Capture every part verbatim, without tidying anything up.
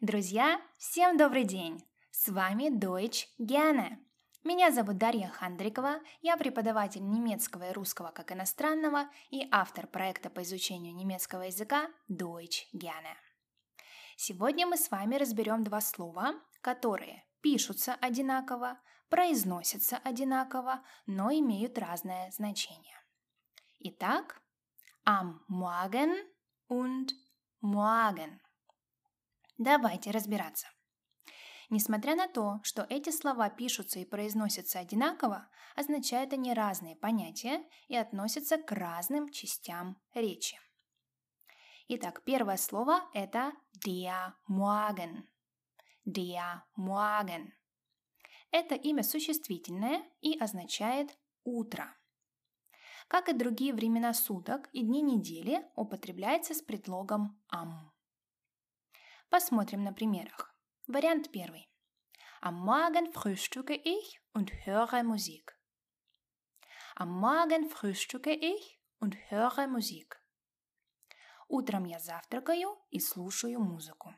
Друзья, всем добрый день! С вами Deutsch gerne. Меня зовут Дарья Хандрикова, я преподаватель немецкого и русского как иностранного и автор проекта по изучению немецкого языка Deutsch gerne. Сегодня мы с вами разберем два слова, которые пишутся одинаково, произносятся одинаково, но имеют разное значение. Итак, am Morgen und morgen. Давайте разбираться. Несмотря на то, что эти слова пишутся и произносятся одинаково, означают они разные понятия и относятся к разным частям речи. Итак, первое слово – это der Morgen. Der Morgen. Это имя существительное и означает «утро». Как и другие времена суток и дни недели, употребляется с предлогом am. Посмотрим на примерах. Вариант первый. Am Morgen frühstücke ich und höre Musik. Am Morgen frühstücke ich und höre Musik. Утром я завтракаю и слушаю музыку.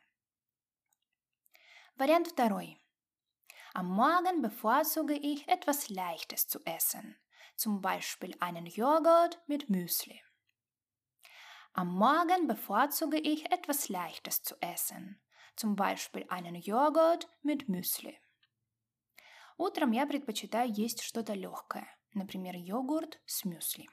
Вариант второй. Am Morgen bevorzuge ich etwas Leichtes zu essen, zum Beispiel einen Joghurt mit Müsli. Am Morgen bevorzuge ich etwas Leichtes zu essen, zum Beispiel einen Joghurt mit Müsli. Утром я предпочитаю есть что-то легкое, например, йогурт с мюсли.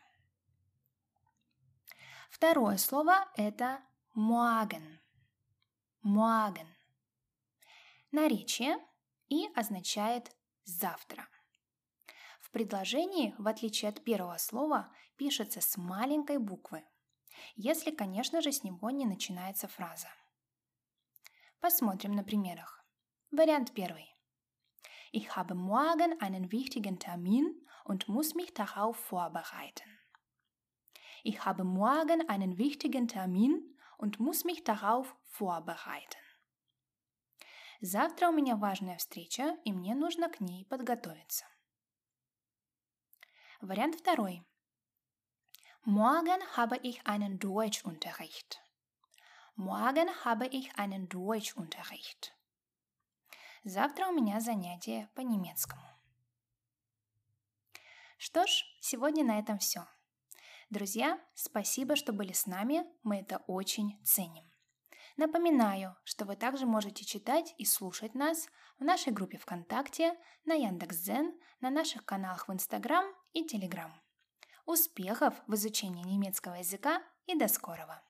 Второе слово – это morgen. Morgen. Наречие и означает «завтра». В предложении, в отличие от первого слова, пишется с маленькой буквы, если, конечно же, с него не начинается фраза. Посмотрим на примерах. Вариант первый. Ich habe morgen einen wichtigen Termin und muss mich darauf vorbereiten. Ich habe morgen einen wichtigen Termin und muss mich darauf vorbereiten. Завтра у меня важная встреча, и мне нужно к ней подготовиться. Вариант второй. Morgen habe ich einen Deutschunterricht. Morgen habe ich einen Deutschunterricht. Завтра у меня занятие по немецкому. Что ж, сегодня на этом все. Друзья, спасибо, что были с нами, мы это очень ценим. Напоминаю, что вы также можете читать и слушать нас в нашей группе ВКонтакте, на Яндекс.Дзен, на наших каналах в Инстаграм и Телеграм. Успехов в изучении немецкого языка и до скорого!